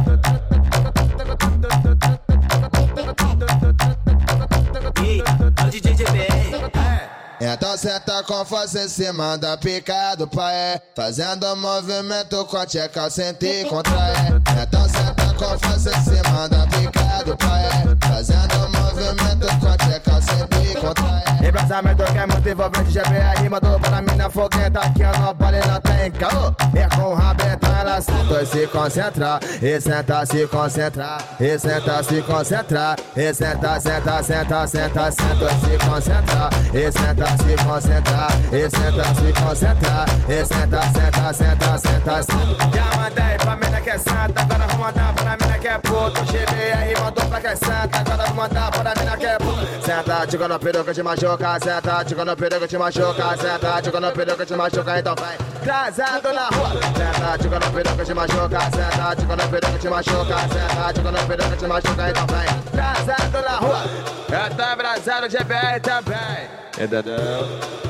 Speaker 14: DJ GBR.
Speaker 21: Então senta com força em cima da pica do pai, fazendo movimento com a tcheca, sente e contrai. Então senta com força em cima da pica do pai, fazendo movimento com a tcheca, sente e contrai. Embrasamento que é muito envolvente, GBR mandou para mina foguenta. Aqui eu não pare, não tem caô. É com o rabetão, ela senta e se concentra. E senta, se concentrar. E senta, se concentrar. E senta, senta, senta, senta, senta e se concentrar. E senta, se concentrar. E senta, se concentrar. E senta, senta, senta, senta, senta. Já mandei pra mina que é santa, agora vou mandar pra mina que é puto. GBR mandou pra que é santa, agora vou mandar pra mina que é puto. Senta, tico no peru que te machuca. Senta, tico no peru que te machuca. Senta, tico no peru que te machuca, então vem. Trazendo na rua. Senta, tico no peru que te machuca. Senta, tico no peru que te machuca. Senta, tico no peru que te machuca, então vem. Trazendo na rua. Eu tô embrasado, GBR também. Entendeu?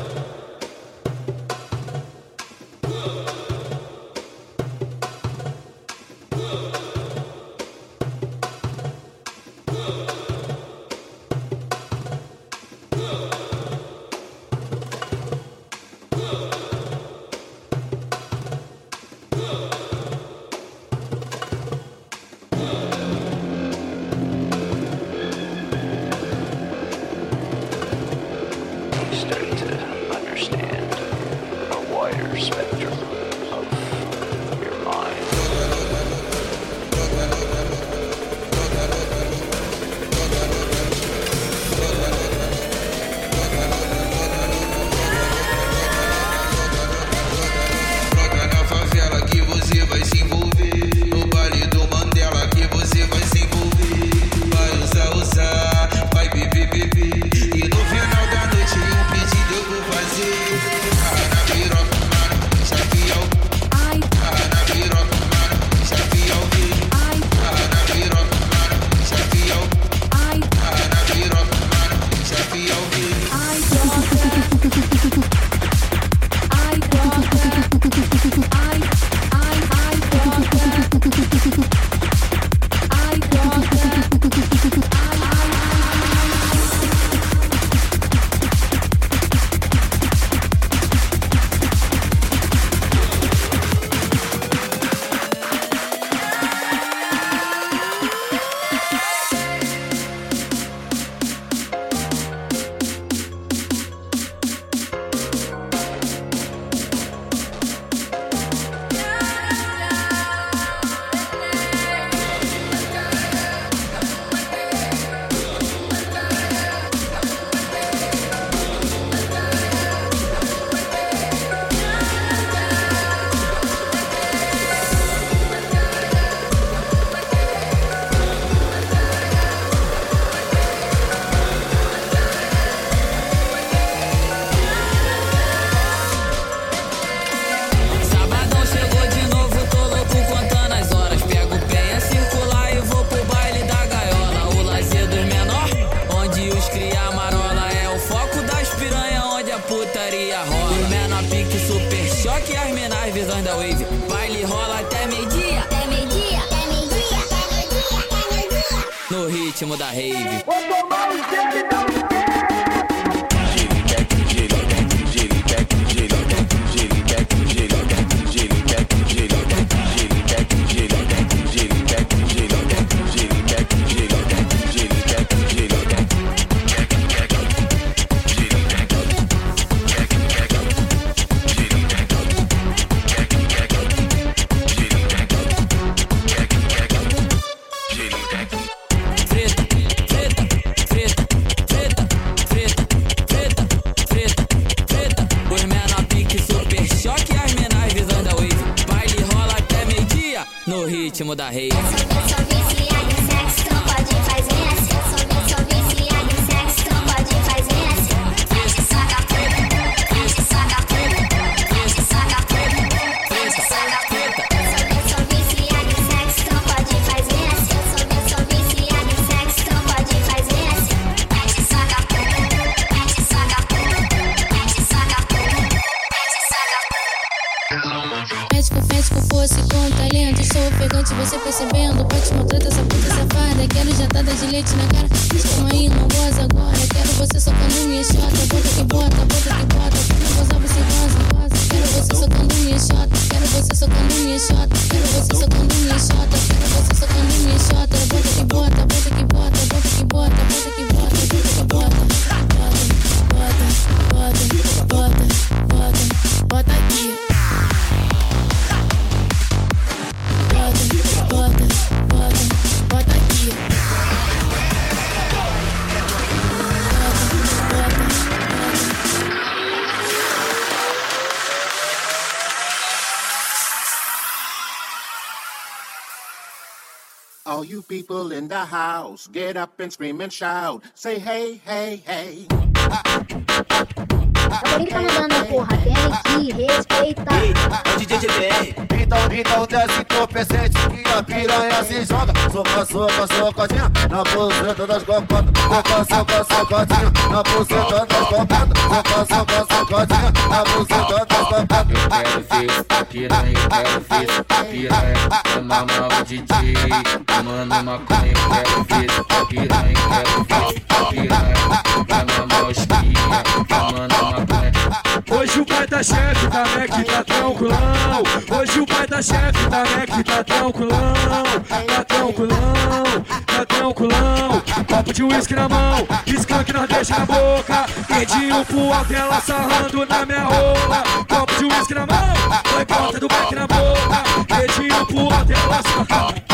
Speaker 1: Starting to understand a wider spectrum of your mind.
Speaker 22: Troca na favela que você vai se envolver. No baile do Mandela que você vai se envolver. Vai usar, vai beber. E no final da noite um pedido eu vou fazer. Carra na piroca, mano, chafial. Carra na piroca, mano, chafial. Carra na piroca, mano, chafial. Carra na piroca, mano, chafial.
Speaker 9: No ritmo da rave.
Speaker 16: no ritmo da rave.
Speaker 2: Sou viciada em sexo, então pode fazer assim. Sou viciada em sexo, então pode fazer assim. Mexe, saca preta, mexe, saca preta, mexe, saca preta, mexe, saca preta. Sou viciada em sexo, então pode fazer assim. Sou viciada em sexo, então pode fazer assim. Mexe, saca preta, mexe, saca preta, mexe, saca preta, mexe, saca preta.
Speaker 15: Pede que eu fosse com talento, sou ofegante, você percebendo. Pode maltrata essa puta safada. Quero jatada de leite na cara. Calma aí, não goza agora. Quero você socando minha chota. Bota que bota, bota que bota. Quero gozar, você goza, goza. Quero você socando minha chota. Quero você socando minha chota. Quero você socando minha chota. Quero você socando minha chota. Bota que bota, bota que bota, bota que bota, bota que bota, bota que bota. Bota aqui. Bota aqui.
Speaker 4: All you people in the house, get up and scream and shout. Say hey, hey, hey.
Speaker 2: Tá mandando, porra, tem que respeitar.
Speaker 12: DJ GBR. Então desce entorpecente que a piranha se joga. Soca, soca, socadinha na buceta das copadas. Soca, soca, socadinha na buceta das copadas. Soca, soca, socadinha na buceta das copadas.
Speaker 6: Eu quero ver a piranha, eu quero ver a piranha. Chama mal o DJ, tomando maconha. Eu quero ver a piranha, eu quero ver a piranha. Chama mal os pia, tomando maconha.
Speaker 5: Hoje o pai da chefe tá Mac, tá tranquilão. Hoje o pai da chefe tá Mac, tá tranquilão. Tá tranquilão, tá tranquilão. Copo de uísque na mão, skunk nós deixa na boca. Dedinho pro alto, ela sarrando na minha rola. Copo de uísque na mão, foi ponta do back na boca. Dedinho pro alto, ela sarrando.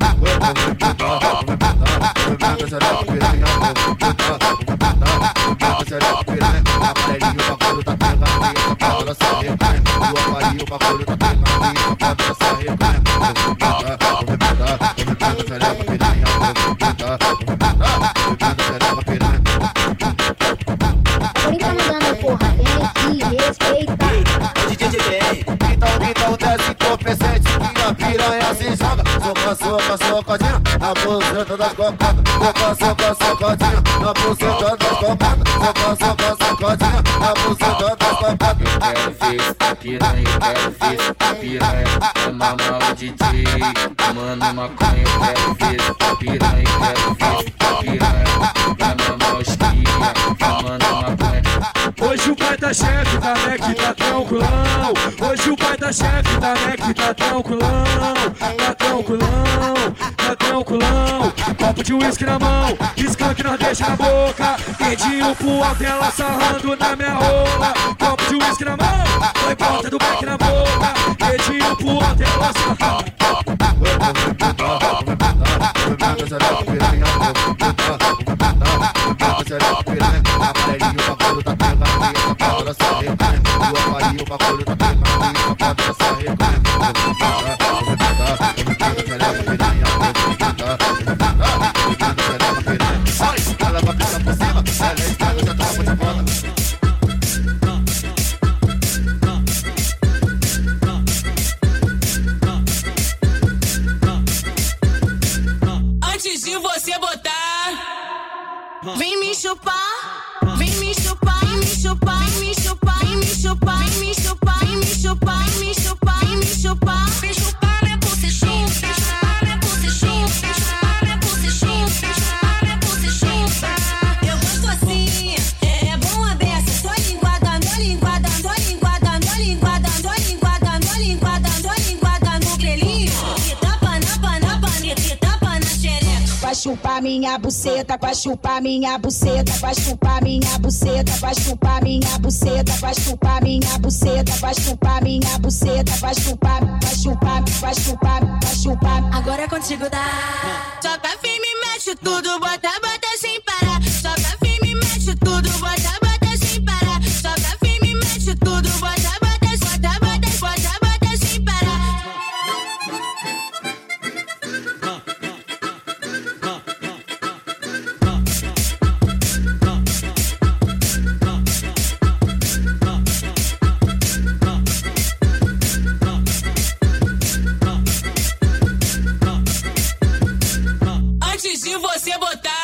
Speaker 12: Então desce entorpecente que a piranha se joga. Soca, soca, socadinha na buceta das copadas. Soca, soca, socadinha na buceta das copadas. Soca, soca, socadinha na buceta das copadas.
Speaker 6: Eu quero ver a piranha, eu quero ver a piranha. Chama mal o DJ, tomando maconha. Eu quero ver a piranha, eu quero ver a piranha. Chama mal os pia, tomando maconha.
Speaker 5: Hoje o pai da chefe tá Mac, tá tranquilão. Hoje o pai da chefe tá Mac, tá tranquilão. Tá tranquilão, tá tranquilão. Copo de uísque na mão, skunk nós deixa na boca. Dedinho pro alto, ela sarrando na minha rola. Copo de uísque na mão, foi ponta do back na boca. Dedinho pro alto, ela sarrando.
Speaker 15: Antes de você botar, vem me chupar, vem me chupar, vem me chupar, vem me chupar, vem me chupar, vem me chupar, vem me chupar, vem me chupar, vem me chupar, vem chupar minha bucechinha, vem chupar minha bucechinha, vem chupar minha bucechinha, vem chupar minha bucechinha. Eu gosto assim, é bom a beça, tô linguada, tô linguada, tô linguada, tô linguada, tô linguada, tô linguada, tô linguada no grelhinho. E tapa na paneta, e tapa na xereca. Vai chupar minha buceta, vai chupar minha buceta, vai chupar minha buceta, vai chupar minha buceta, vai chupar minha buceta, vai chupar minha buceta, vai chupar, vai chupar, vai chupar, vai chupar. Agora é contigo, dá. Soca firme, mexe tudo, bota, bota sem parar. Soca firme, mexe tudo, bota, bota sem parar. Soca firme, mexe tudo, bota, bota, bota, bota, bota, bota sem parar.
Speaker 3: que você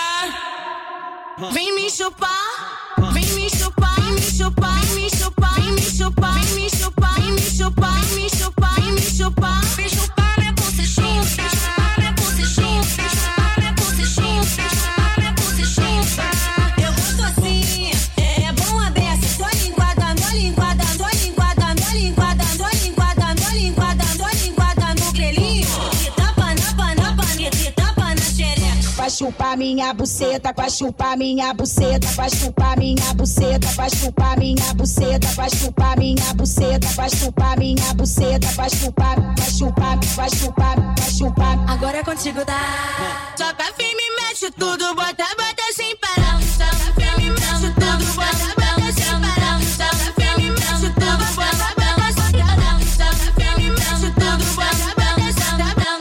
Speaker 3: botar. Vem me chupar, vem me chupar, vem me chupar, vem me chupar, vem me chupar, vem me chupar, vem me chupar, vem me chupar, vem me chupar, vem chupar minha bucechinha, vem chupar minha bucechinha, vem chupar minha bucechinha, vem chupar minha bucechinha. Eu gosto assim, é bom a beça, tô linguada, tô linguada, tô linguada, tô linguada, tô linguada, tô linguada, tô linguada no grelhinho, que tapa na panapa, que tapa na xereca.
Speaker 8: Vai chupar minha buceta, vai chupar minha buceta, vai chupar minha buceta, vai chupar minha buceta, vai chupar minha buceta, vai chupar minha buceta, vai chupar, vai chupar, vai chupar, vai chupar.
Speaker 3: Agora é contigo, tá? Soca firme, mexe tudo, bota, bota sem parar. Soca firme, mexe tudo, bota, bota sem parar. Soca firme, mexe tudo, bota, bota sem parar. Soca firme, mexe tudo, bota, bota sem parar.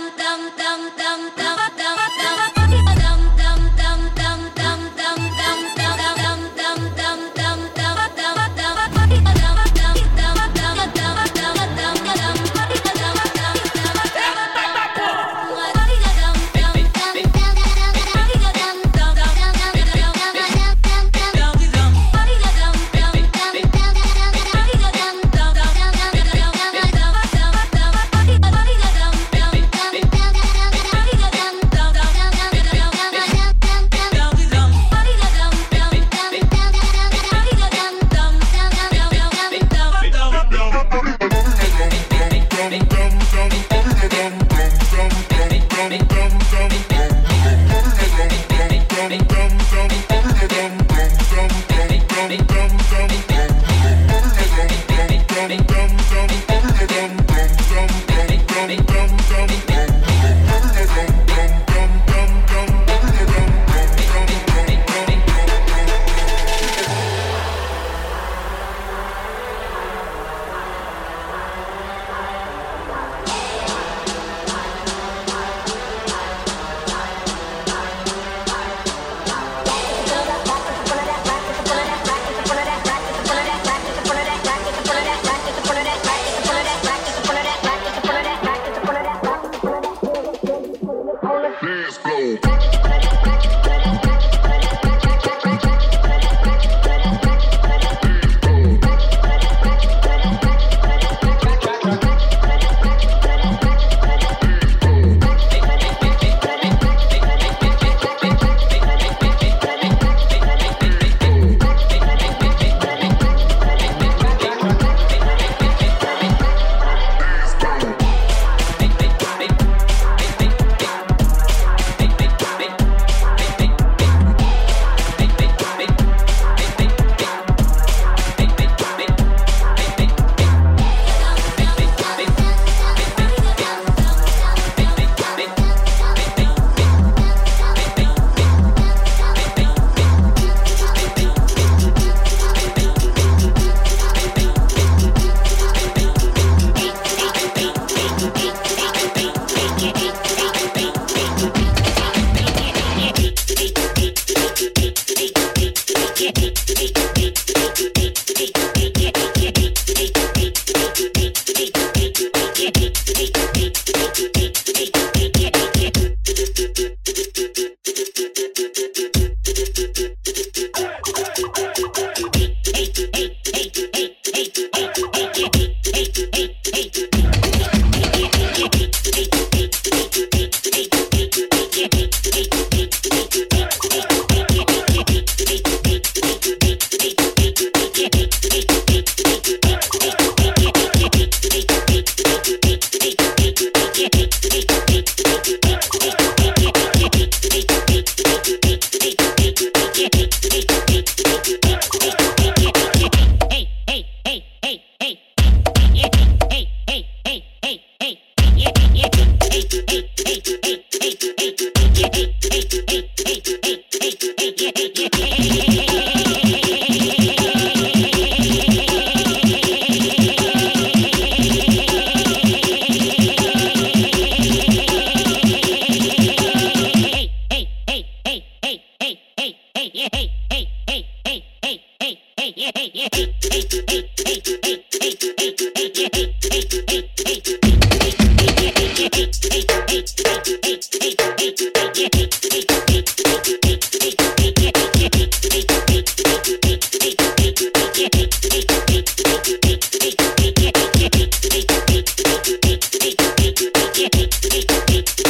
Speaker 2: Hey,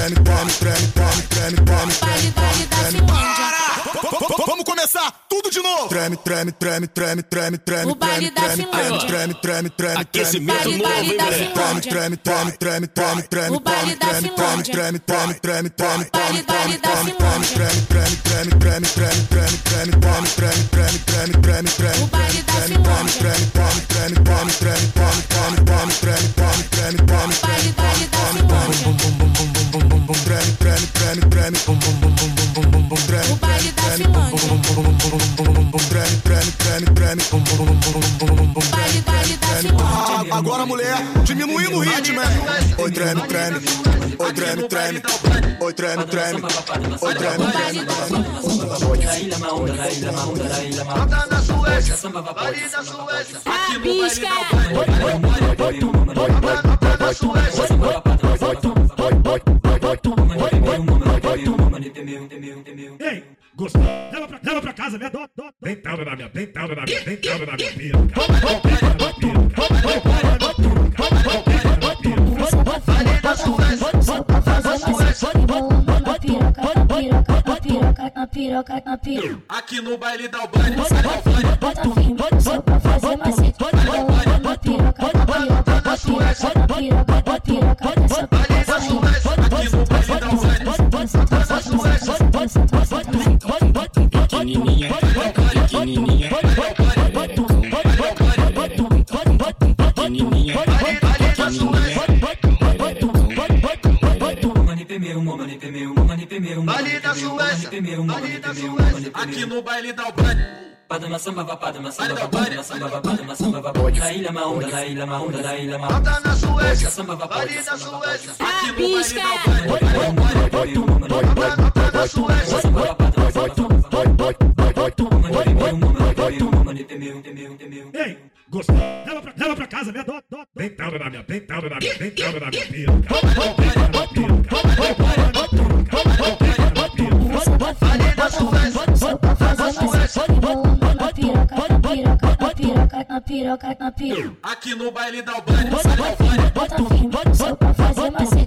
Speaker 11: Vamos começar tudo de novo. Treme, treme, treme, treme, treme, treme.
Speaker 3: O baile da Finlândia.
Speaker 11: Treme, treme, treme.
Speaker 3: Aquecimento novo, hein, moleque?
Speaker 11: Treme, treme, treme, treme, treme, treme.
Speaker 3: O baile da Finlândia.
Speaker 11: Treme, treme, treme, treme, treme.
Speaker 3: Baile da Finlândia.
Speaker 11: Treme, treme, treme, treme, treme, treme, treme, treme, treme, treme, treme, treme, treme.
Speaker 3: O baile da Finlândia.
Speaker 11: Treme, treme, treme, treme, treme, treme, treme, treme, treme, treme, treme, treme.
Speaker 3: Baile da Finlândia.
Speaker 11: Treme, treme, treme, treme.
Speaker 3: O baile da Finlândia.
Speaker 11: Treme, treme, treme, treme.
Speaker 3: Baile da Finlândia.
Speaker 11: Agora, mulher, diminuindo o ritmo, hein? Oi, treme, treme. Oi, treme, treme. Oi, treme, treme. Oi, treme, treme.
Speaker 18: Bota na Suécia, baile da Suécia.
Speaker 3: A pisca.
Speaker 18: Bota na Suécia.
Speaker 5: Ei, gostou? Leva pra casa, minha dó. Deitado na minha piroca.
Speaker 18: Baile da Suécia.
Speaker 3: Na piroca.
Speaker 11: Aqui no baile da Albânia.
Speaker 3: Bota firme, só pra fazer macete. Na piroca, na Suécia. Na piroca, dessa
Speaker 18: Baile da Suécia.
Speaker 11: Aqui no baile da Albânia.
Speaker 6: Pequenininha, pequenininha,
Speaker 18: Baile da Suécia.
Speaker 11: Aqui no baile da Albânia.
Speaker 16: Padma samba va padma samba va padma samba va padma samba va la ilha maunda la ilha maunda la ilha maunda.
Speaker 18: Bota na Suécia.
Speaker 16: Samba va
Speaker 18: Baile da Suécia.
Speaker 11: Aqui no baile da
Speaker 18: Bota na Suécia.
Speaker 5: Ei, gostou? Leva pra casa, minha dó. Deitado na minha piroca.
Speaker 18: Baile da Suécia.
Speaker 3: Na piroca.
Speaker 11: Aqui no baile da Albânia.
Speaker 3: Bota firme, só pra fazer macete.